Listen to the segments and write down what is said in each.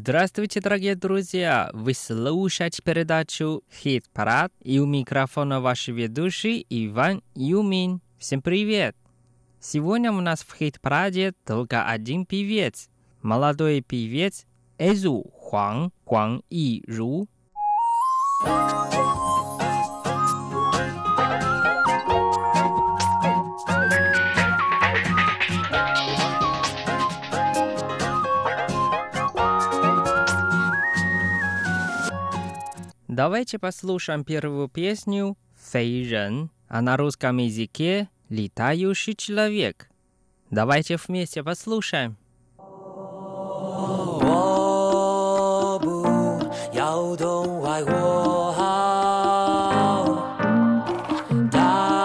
Здравствуйте, дорогие друзья! Вы слушаете передачу «Хит-парад», и у микрофона ваш ведущий Иван Юмин. Всем привет! Сегодня у нас в «Хит-параде» только один певец. Молодой певец Эзу Хуан Гуанъиру. Давайте послушаем первую песню «Фэй Рен», а на русском языке «Летающий человек». Давайте вместе послушаем. 我不要动坏我好，答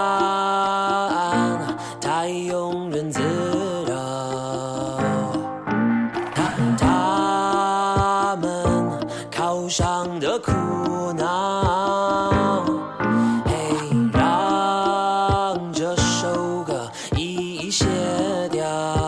案太庸人自扰，他们靠上的苦恼，让这首歌一卸掉，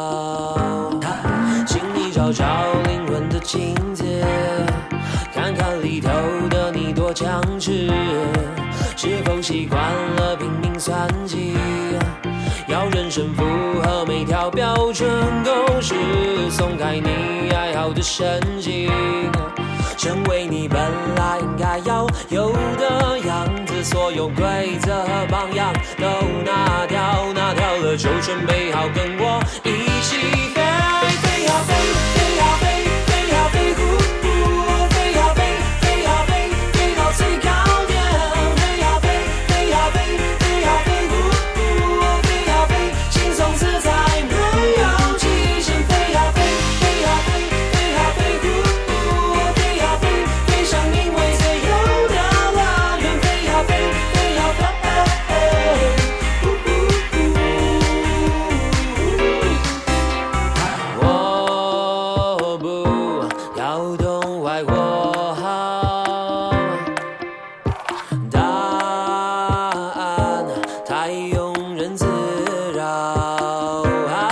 请你找找灵魂的情节，看看里头的你多强势，是否习惯了拼命算计，要人生符合每条标准公式，松开你爱好的神经，成为你本来应该要有的样子，所有规则和榜样都拿掉，拿掉了就准备好跟我一起飞，飞呀飞，飞呀飞，飞呀飞，飞呀飞，飞呀飞，飞到最高点，飞呀飞，飞呀飞，飞呀飞，飞呀飞，轻松自在没有极限，飞呀飞，飞呀飞，飞呀飞，飞呀飞，飞向因为自由的乐园，飞呀飞，飞呀飞。我不要动坏我好，答案太庸人自扰，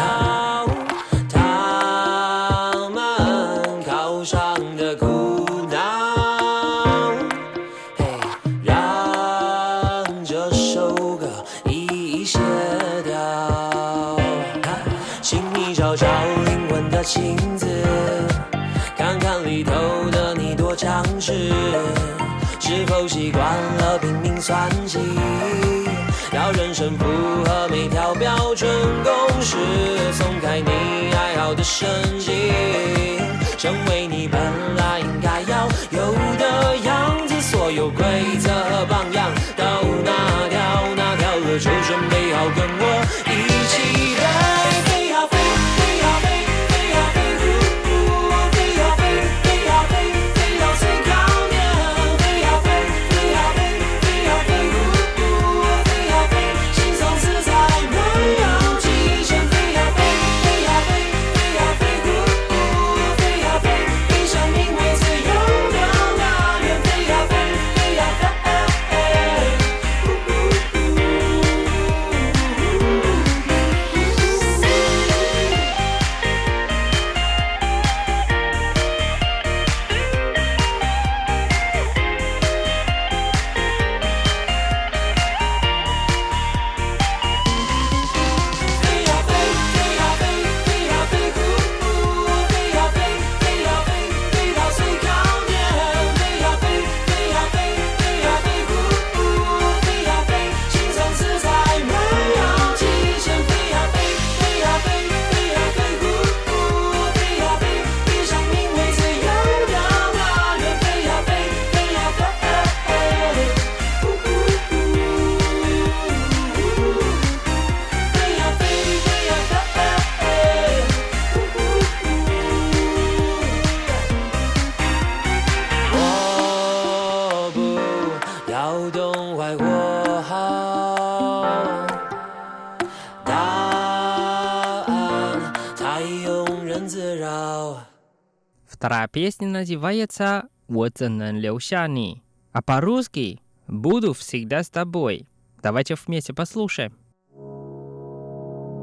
他们靠上的苦恼，让这首歌一卸掉，请你找找灵魂的情字，看看里头的你多强势，是否习惯了拼命算计，要人生符合每条标准公式，松开你爱好的神经，成为你本来应该要有的样子，所有规则和榜样都拿掉，拿掉了就准备好跟我一起飞，飞呀飞，飞呀飞，飞呀飞，飞呀飞，飞呀飞，飞到最高点，飞呀飞，飞呀飞，飞呀飞，飞呀飞，轻松自在没有极限，飞呀飞，飞呀飞，飞呀飞，飞呀飞，飞向因为自由的乐园，飞呀飞，飞呀飞。 Вторая песня называется «Вот能留下你», а по-русски «Буду всегда с тобой». Давайте вместе послушаем.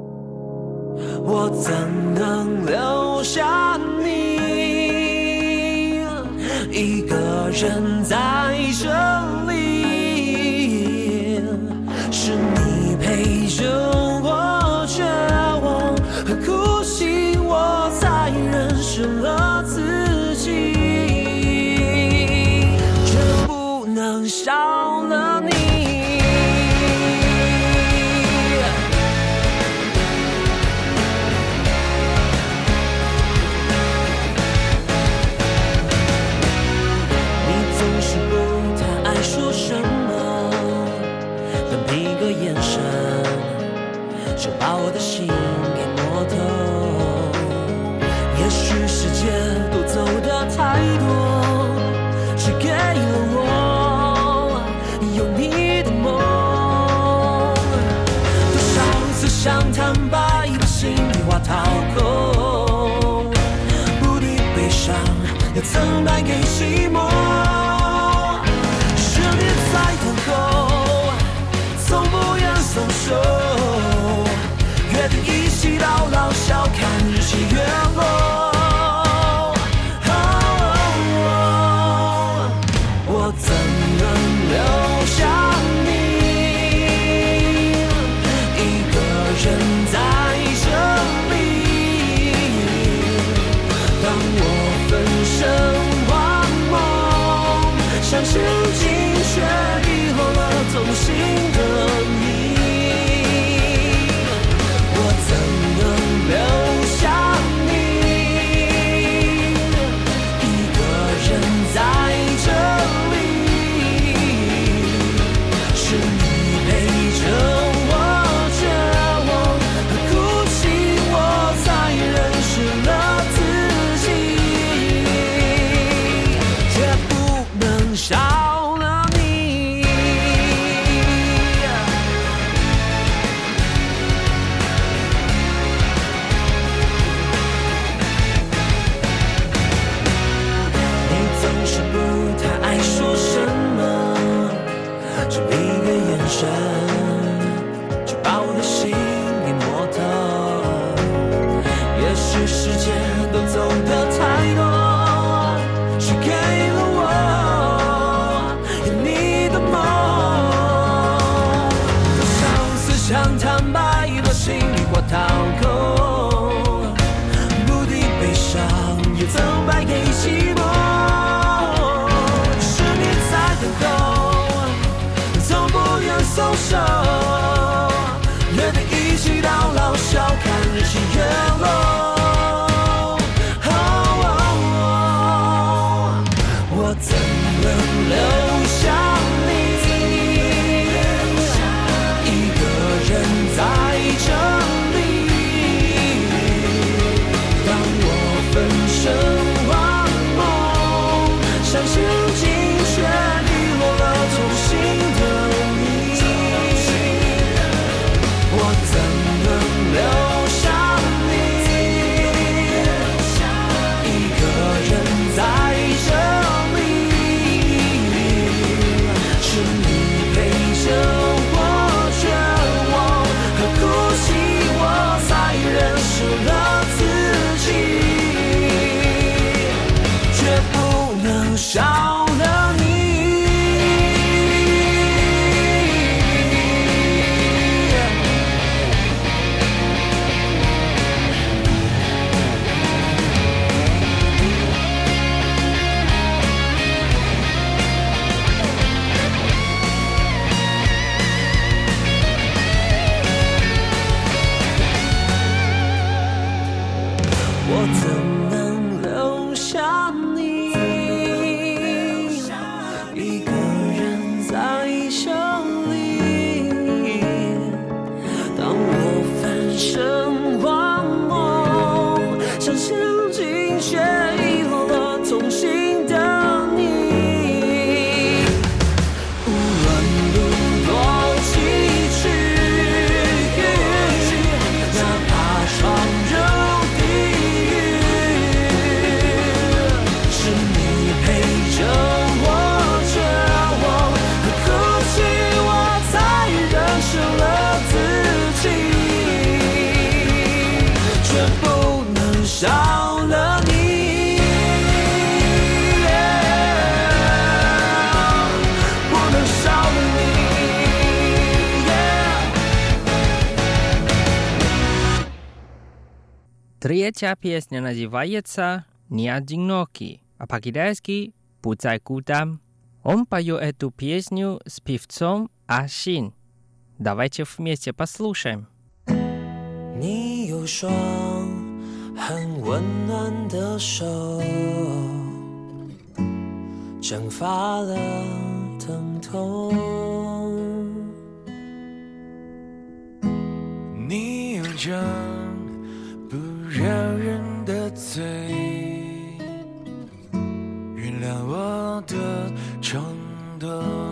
我怎能留下你？ 一个人在这里，是你陪着我绝望和哭泣，我才认识了自己，却不能少了你。就把我的心给摸透，也许时间都走得太多，只给了我有你的梦。多少次想坦白，把心里话掏空，不敌悲伤，又曾败给寂寞。是你在等候，从不愿松手，约定一起到老，笑看日起月落。我怎能留下你一个人在这里？当我分身幻梦，相信尽却遗落了同行的你。就把我的心给摸透，也许时间都走得太多，只给了我有你的梦。多少次想坦白，把心里话掏空，不敌悲伤，又曾败给寂寞。是你在等候，从不愿松手，约定一起到老，笑看日起月落。我怎能留下你一个人在这里？当我分身幻梦，相信尽却遗落了同行的你。 Третья песня называется «Не одинокий», а по-китайски «不再孤单». Он поет эту песню с певцом Ашин. Давайте вместе послушаем. 你有双很温暖的手，蒸发了疼痛。你有张不饶人的嘴，原谅我的冲动。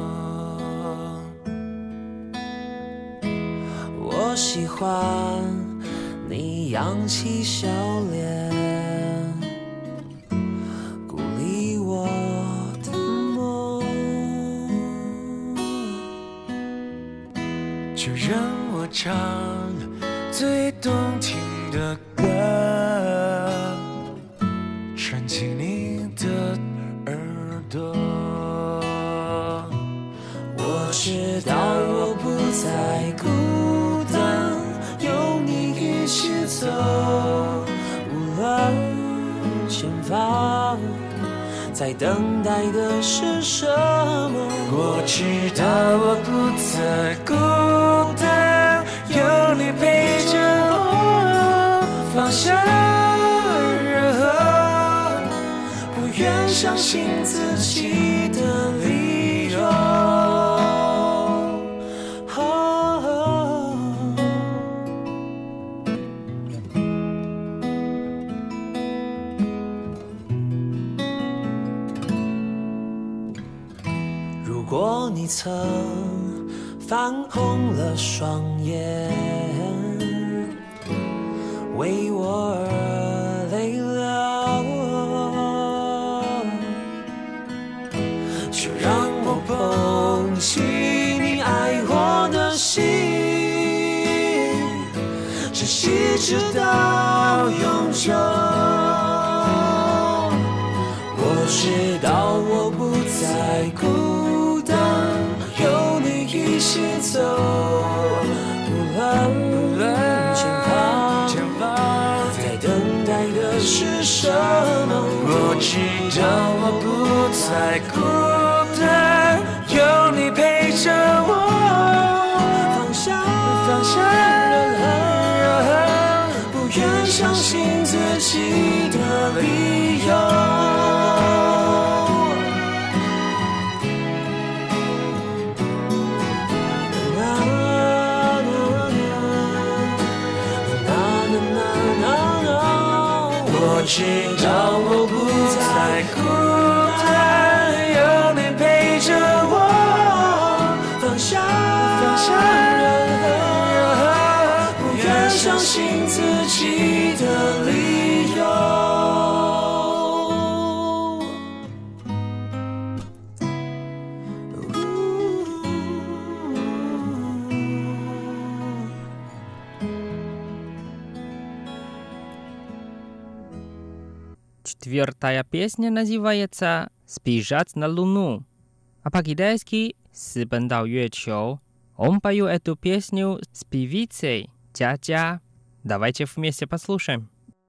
我喜欢你扬起笑脸，鼓励我的梦。就让我唱最动听的歌，传进你的耳朵。我知道我不再孤单，有你一起走，无论前方在等待的是什么。我知道我不再孤单，有你陪着我，放下任何不愿相信自己的理由。如果你曾泛红了双眼，为我而泪流，就让我捧起你爱我的心，珍惜直到永久。我知道我不再孤单，有你一起走，无论前方在等待的是什么。我知道我不再孤单，有你陪着我，放下任何不愿相信自己的理由。我知道我不再孤单，有你陪着我，放下任何不愿相信自己的理由。 Четвертая песня называется «Сбежать на Луну», а по-китайски «私奔到月球». Он поет эту песню с певицей Джа-Джа. Давайте вместе послушаем.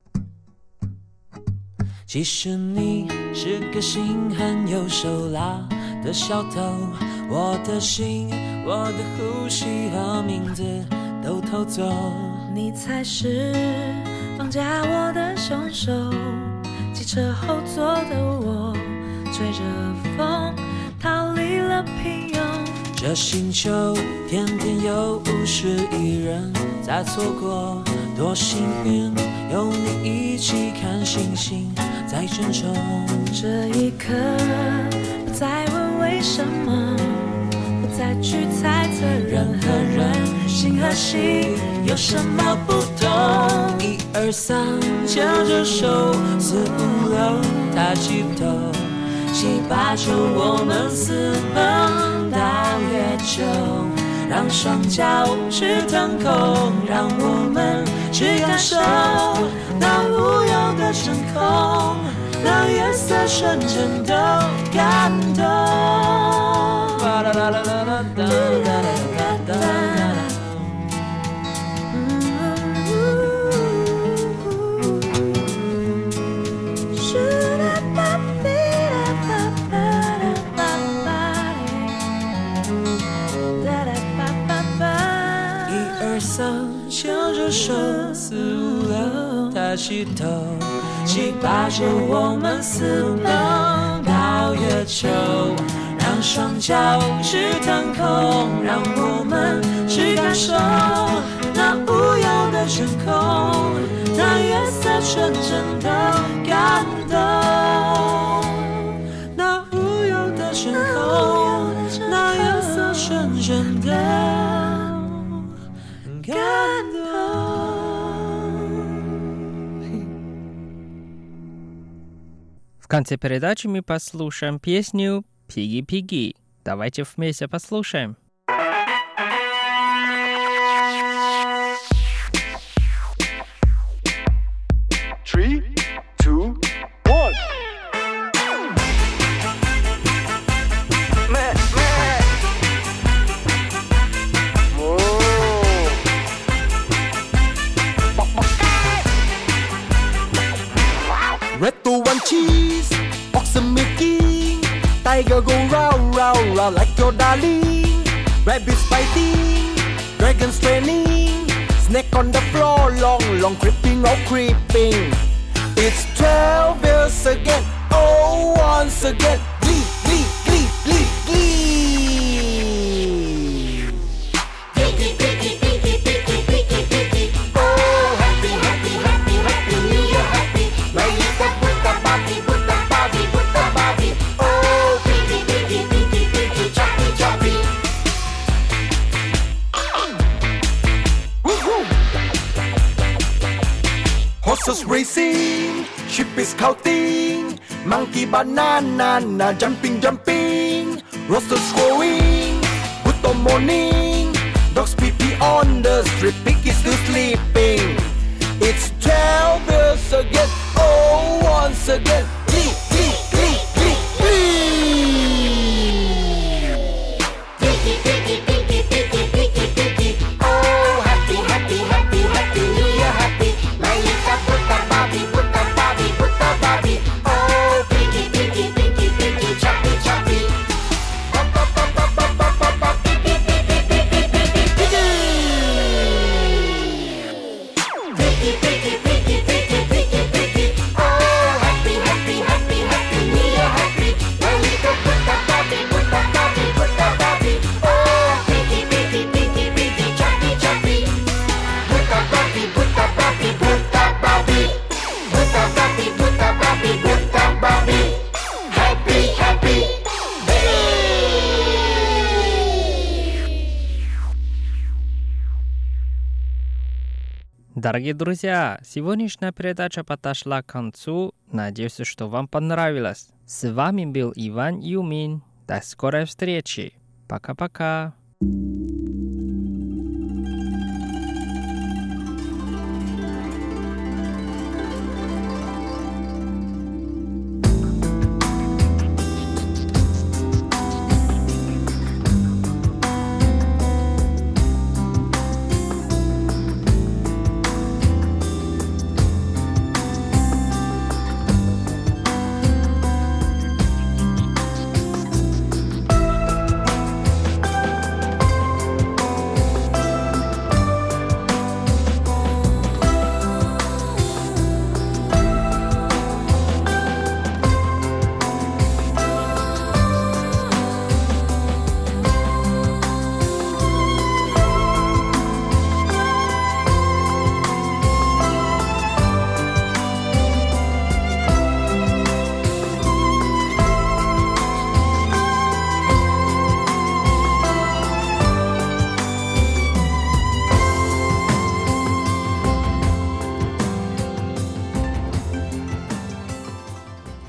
其实你是个心狠又手辣的小偷，我的心，我的呼吸和名字都偷走。 你才是绑架我的凶手，汽车后座的我吹着风逃离了平庸。 这星球天天有50亿人在错过，多幸运有你一起看星星在珍重。 这一刻不再问为什么，不再去猜测人和人，心和心有什么不同。 1、2、3牵着手，4、5、6抬起头，7、8、9我们私奔到月球，让双脚去腾空，让我们去感受那无忧的真空，让夜色瞬间都感动。 而生，牵着手四五六，抬起头，7、8、9，我们私奔到月球，让双脚去腾空，让我们去感受那无忧的天空，那月色纯真的感动，那无忧的天空，那月色纯真的感动。 В конце передачи мы послушаем песню «Пиги-пиги». Давайте вместе послушаем. Three, two, one. Red to one cheese, box of milky. Tiger go round, round, round like your darling. Rabbits fighting, dragons training. Snake on the floor, long, long creeping, oh creeping. It's 12 years again, oh once again. Glee, glee, glee, glee, glee. Piggy, piggy, piggy, piggy, piggy, piggy. Oh happy, happy, happy, happy, New Year happy. My little Buddha Bobby, Buddha Bobby, Buddha Bobby. Oh piggy, piggy, piggy, piggy, choppy, choppy. Woohoo! Horses racing, sheep is counting, monkey banana, jumping, jumping, roosters crowing, good morning, dogs pee-pee on the street, pig is still sleeping. It's 12 years again, oh once again, glee, glee, glee, glee, glee. Piggy, piggy, piggy, piggy, piggy, piggy. Oh happy, happy, happy, happy, New Year happy. My little Buddha Bobby, Buddha Bobby, Buddha Bobby. Oh piggy, piggy, piggy, piggy, choppy, choppy. Pop, pop, pop, pop, pop, pop, pop, pop, piggy, piggy, piggy, piggy, piggy. Piggy, piggy, piggy, piggy, piggy, piggy. Oh happy, happy, happy, happy, New Year happy. My little Buddha Bobby, Buddha Bobby, Buddha Bobby. Oh piggy, piggy, piggy, piggy, choppy, choppy. Buddha Bobby, Buddha Bobby, Buddha Bobby. Buddha Bobby, Buddha Bobby, Buddha Bobby. Happy, happy. Hey! Дорогие друзья, сегодняшняя передача подошла к концу. Надеюсь, что вам понравилось. С вами был Иван Юмин. До скорой встречи. Пока-пока.